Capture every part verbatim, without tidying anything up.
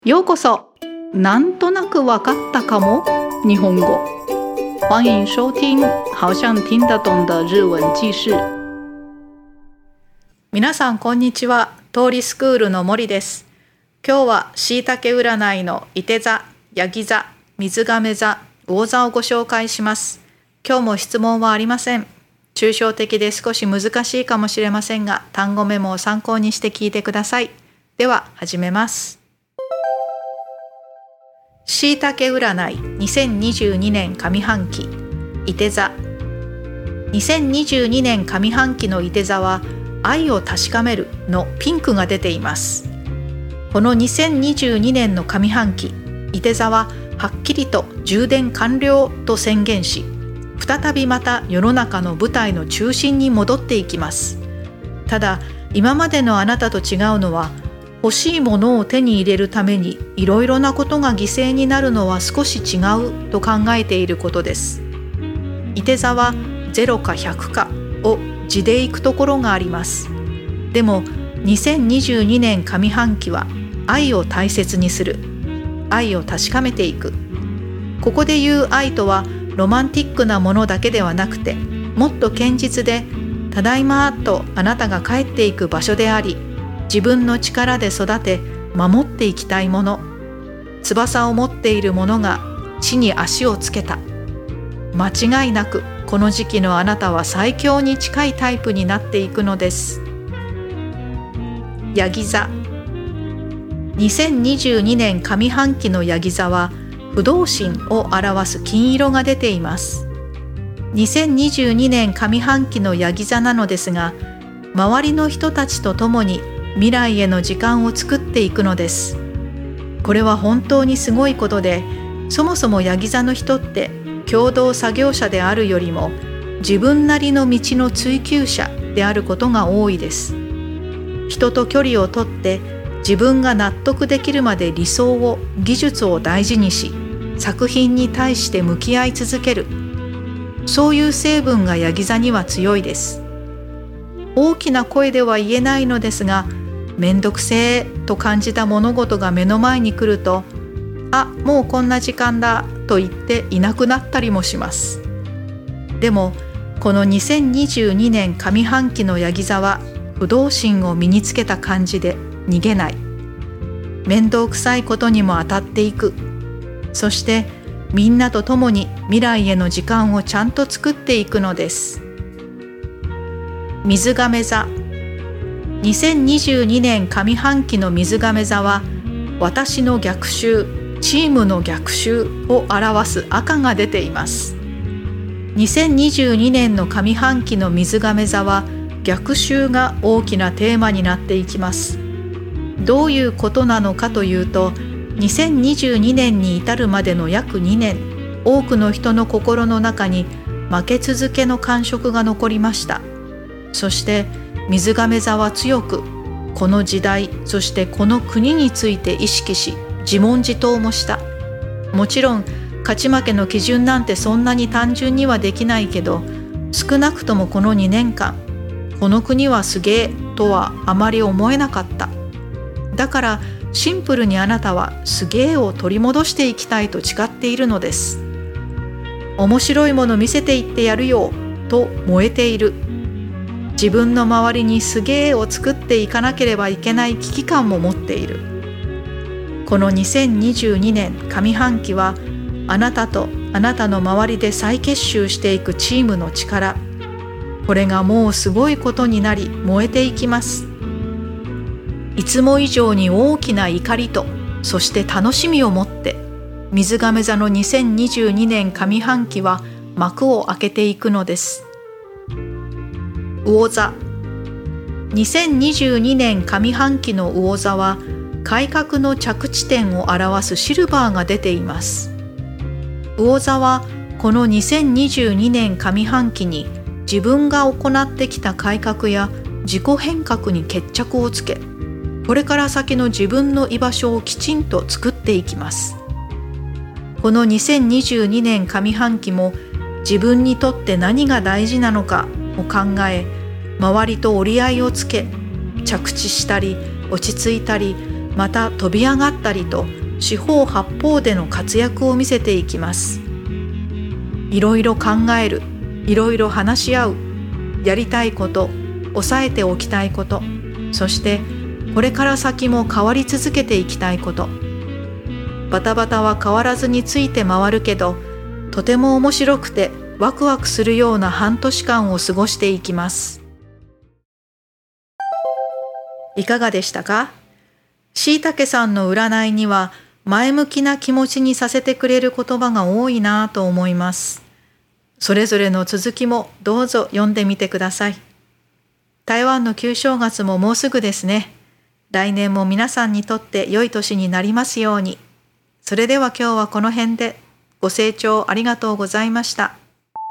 ようこそ。なんとなくわかったかも日本語。欢迎收听好像听得懂的日文記事。皆さんこんにちは。通りスクールの森です。今日はしいたけ占いのいて座、やぎ座、水亀座、魚座をご紹介します。今日も質問はありません。抽象的で少し難しいかもしれませんが、単語メモを参考にして聞いてください。では始めます。しいたけ占いにせんにじゅうにねん上半期いて座。にせんにじゅうにねん上半期のいて座は愛を確かめるのピンクが出ています。このにせんにじゅうにねんの上半期、いて座ははっきりと充電完了と宣言し、再びまた世の中の舞台の中心に戻っていきます。ただ今までのあなたと違うのは、欲しいものを手に入れるためにいろいろなことが犠牲になるのは少し違うと考えていることです。いて座はゼロかひゃくかを地でいくところがあります。でもにせんにじゅうにねん上半期は愛を大切にする、愛を確かめていく。ここで言う愛とはロマンティックなものだけではなくて、もっと堅実でただいまとあなたが帰っていく場所であり、自分の力で育て守っていきたいもの、翼を持っているものが地に足をつけた。間違いなくこの時期のあなたは最強に近いタイプになっていくのです。やぎ座。にせんにじゅうにねん上半期のやぎ座は不動心を表す金色が出ています。にせんにじゅうにねん上半期のやぎ座なのですが、周りの人たちと共に未来への時間を作っていくのです。これは本当にすごいことで、そもそもヤギ座の人って共同作業者であるよりも自分なりの道の追求者であることが多いです。人と距離をとって自分が納得できるまで理想を、技術を大事にし、作品に対して向き合い続ける。そういう成分がヤギ座には強いです。大きな声では言えないのですが、めんどくせえと感じた物事が目の前に来ると、あ、もうこんな時間だと言っていなくなったりもします。でもこのにせんにじゅうにねん上半期のヤギ座は不動心を身につけた感じで逃げない。面倒くさいことにも当たっていく。そしてみんなと共に未来への時間をちゃんと作っていくのです。水亀座。にせんにじゅうにねん上半期の水亀座は私の逆襲、チームの逆襲を表す赤が出ています。にせんにじゅうにねんの上半期の水亀座は逆襲が大きなテーマになっていきます。どういうことなのかというと、にせんにじゅうにねんに至るまでの約にねん、多くの人の心の中に負け続けの感触が残りました。そして水亀座は強くこの時代、そしてこの国について意識し、自問自答もした。もちろん勝ち負けの基準なんてそんなに単純にはできないけど、少なくともこのにねんかん、この国はすげえとはあまり思えなかった。だからシンプルにあなたはすげえを取り戻していきたいと誓っているのです。面白いもの見せていってやるよと燃えている。自分の周りにすげえを作っていかなければいけない危機感も持っている。このにせんにじゅうにねん上半期はあなたとあなたの周りで再結集していくチームの力、これがもうすごいことになり燃えていきます。いつも以上に大きな怒りと、そして楽しみを持って水亀座のにせんにじゅうにねん上半期は幕を開けていくのです。魚座。にせんにじゅうにねん上半期の魚座は改革の着地点を表すシルバーが出ています。魚座はこのにせんにじゅうにねん上半期に自分が行ってきた改革や自己変革に決着をつけ、これから先の自分の居場所をきちんと作っていきます。このにせんにじゅうにねん上半期も自分にとって何が大事なのかを考え、周りと折り合いをつけ、着地したり落ち着いたり、 また飛び上がったりと四方八方での活躍を見せていきます。いろいろ考える、いろいろ話し合う、やりたいこと、抑えておきたいこと、そしてこれから先も変わり続けていきたいこと。バタバタは変わらずについて回るけど、とても面白くてワクワクするような半年間を過ごしていきます。いかがでしたか？しいたけさんの占いには前向きな気持ちにさせてくれる言葉が多いなと思います。それぞれの続きもどうぞ読んでみてください。台湾の旧正月ももうすぐですね。来年も皆さんにとって良い年になりますように。それでは今日はこの辺で。ご清聴ありがとうございました。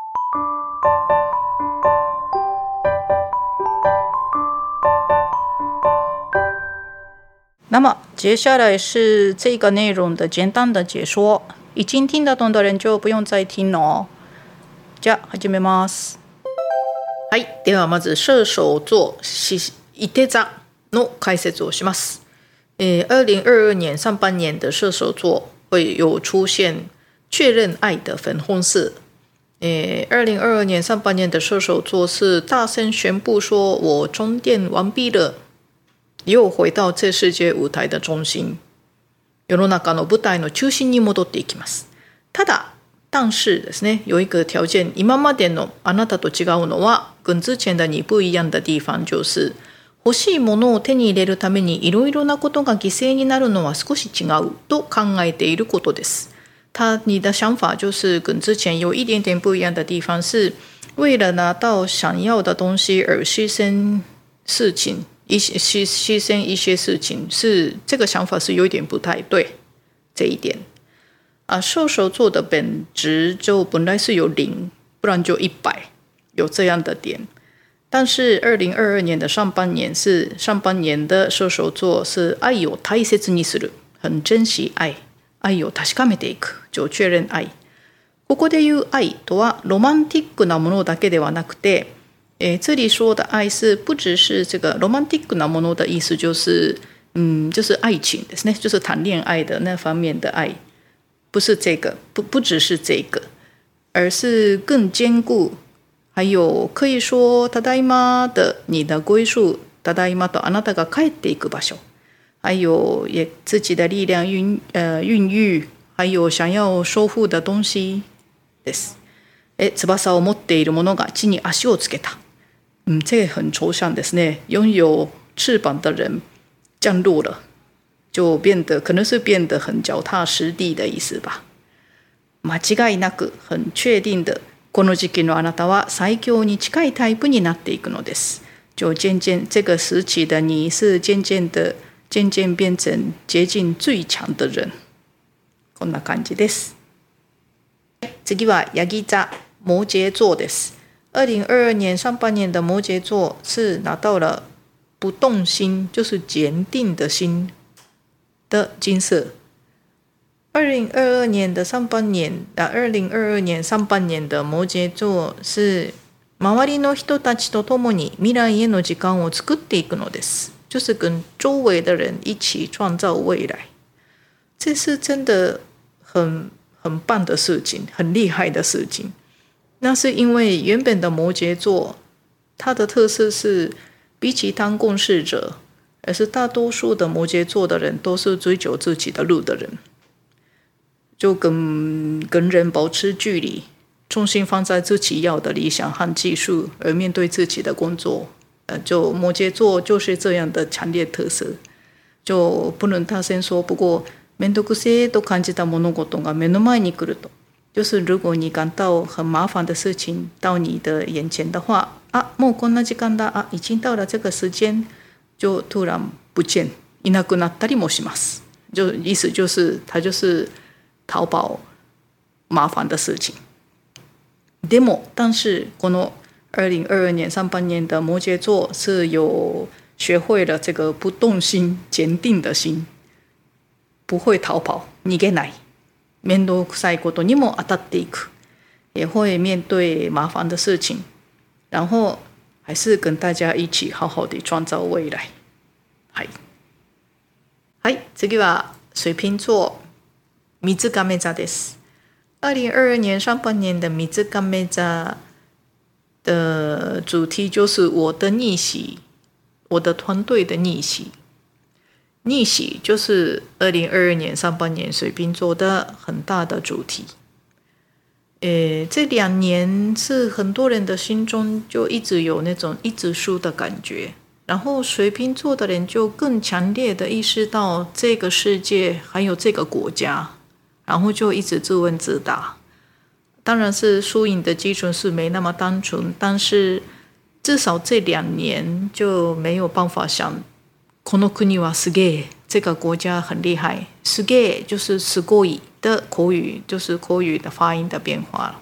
那么接下来是这个内容的简单的解说，已经听得懂的人就不用再听了哦。じゃあ始めます。はい、ではまず射手座いて座の解説をします。えー、二零二二年上半年的射手座会有出现确认爱的粉红色。诶，二零二二年上半年的射手座是大声宣布说：“我充电完毕了，又回到这世界舞台的中心。”世の中の舞台の中心に戻っていきます。ただ、但是ですね、有一个条件，今までのあなたと違うのは、跟之前的你不一样的地方就是、欲しいものを手に入れるためにいろいろなことが犠牲になるのは少し違うと考えていることです。他你的想法就是跟之前有一点点不一样的地方，是为了拿到想要的东西而牺牲事情，一些牺牺牲一些事情，是这个想法是有一点不太对。这一点啊，射手座的本质就本来是有零，不然就一百，有这样的点。但是二零二二年的上半年是上半年的射手座是愛を大切にする，很珍惜愛。愛を確かめていく、就确認愛。ここで言う愛とはロマンティックなものだけではなくて、え这里说的愛是不只是这个ロマンティックなもの的意思，就是嗯，就是愛情ですね，就是談戀愛的那方面的愛，不是这个，不不只是这个，而是更坚固。还有可以说ただいま的你的归宿，ただいまとあなたが帰っていく場所。还有也自己的力量孕呃孕育，还有想要收复的东西です。え、翼を持っているものが地に足をつけた。嗯，这个很抽象ですね。拥有翅膀的人降落了，就变得可能是变得很脚踏实地的意思吧。間違いなく很确定的、この時期のあなたは最強に近いタイプになっていくのです。就渐渐这个时期的你是渐渐的。渐渐变成接近最強的人。こんな感じです。次はヤギ座摩羯座です。二零二二年上半年的摩羯座是拿到了不动心，就是坚定的心的金色。二零二二年的上半年啊，二零二二年上半年的摩羯座是周りの人たちと共に未来への時間を作っていくのです。就是跟周围的人一起创造未来，这是真的很很棒的事情，很厉害的事情。那是因为原本的摩羯座，它的特色是比起当共事者，而是大多数的摩羯座的人都是追求自己的路的人，就跟跟人保持距离，重心放在自己要的理想和技术，而面对自己的工作。就摩羯座就是这样的强烈特色，就不能大声说。不过面倒くせえと感じた物事が目の前に来ると，就是如果你感到很麻烦的事情到你的眼前的话，啊，もうこんな時間だ，啊，已经到了这个时间，就突然不见，いなくなったりもします。就意思就是他就是逃跑麻烦的事情。でも但是この二零二二年上半年的摩羯座是有学会了这个不动心、坚定的心，不会逃跑、逃げない、面倒くさいことにも当たっていく，也会面对麻烦的事情，然后还是跟大家一起好好的创造未来。はい。 はい、次は水瓶座水亀座です。二零二二年上半年的水亀座的主题就是我的逆袭，我的团队的逆袭。逆袭就是二零二二年上半年水瓶座的很大的主题。诶，这两年是很多人的心中就一直有那种一直输的感觉，然后水瓶座的人就更强烈的意识到这个世界还有这个国家，然后就一直自问自答。当然是输赢的基准是没那么单纯，但是至少这两年就没有办法想この国はすげえ，这个国家很厉害。すげえ就是すごい的口语，就是口语的发音的变化。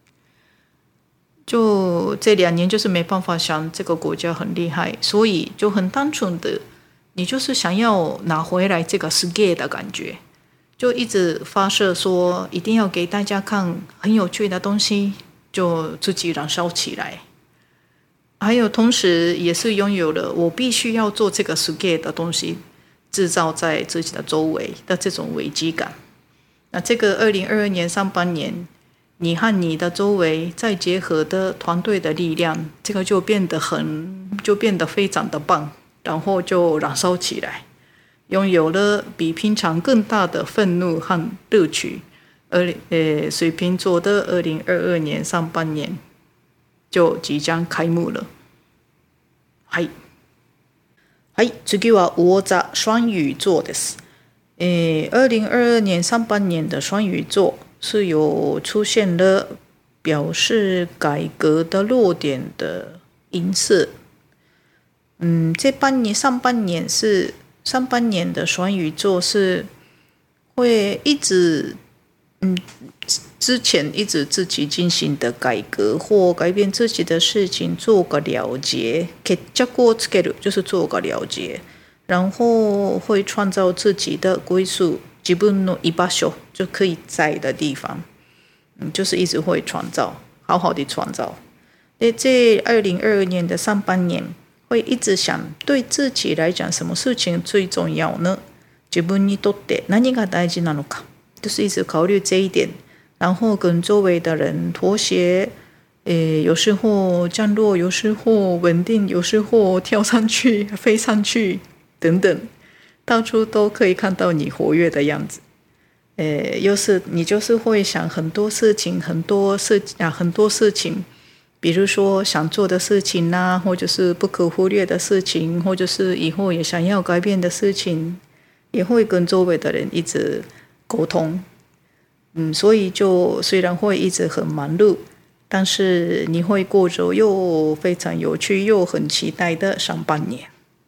就这两年就是没办法想这个国家很厉害，所以就很单纯的，你就是想要拿回来这个すげえ的感觉，就一直发射说一定要给大家看很有趣的东西，就自己燃烧起来。还有同时也是拥有了我必须要做这个すげえ的东西，制造在自己的周围的这种危机感。那这个二零二二年上半年，你和你的周围再结合的团队的力量，这个就变得很就变得非常的棒，然后就燃烧起来，拥有了比平常更大的愤怒和乐趣。而呃，水瓶座的二零二二年上半年就即将開幕了。はい。はい、次は魚座双魚座です。诶，二零二二年上半年的双鱼座是有出现了表示改革的弱点的音色。嗯，这半年上半年是上半年的双鱼座是会一直嗯。之前一直自己进行的改革或改变自己的事情做个了结，決着をつける就是做个了结，然后会创造自己的归宿，自分の居場所就可以在的地方，嗯，就是一直会创造，好好的创造。在这二零二二年的上半年，会一直想对自己来讲什么事情最重要呢？自分にとって何が大事なのか，就是一直考虑这一点。然后跟周围的人妥协，诶，有时候降落，有时候稳定，有时候跳上去、飞上去等等，到处都可以看到你活跃的样子。诶，又是你就是会想很多事情，很多事啊，很多事情，比如说想做的事情啦、啊，或者是不可忽略的事情，或者是以后也想要改变的事情，也会跟周围的人一直沟通。嗯，所以就虽然会一直很忙碌，但是你会过着又非常有趣又很期待的上半年。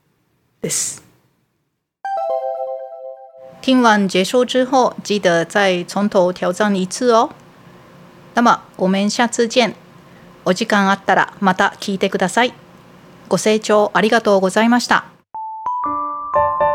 听完结束之后，记得再从头挑战一次哦。那么我们下次见。お時間あったらまた聞いてください。ご清聴ありがとうございました。